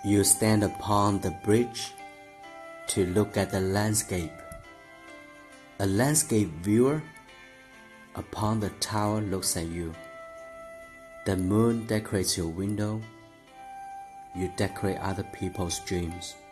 You stand upon the bridge to look at the landscape. A landscape viewer upon the tower looks at you. The moon decorates your window. You decorate other people's dreams.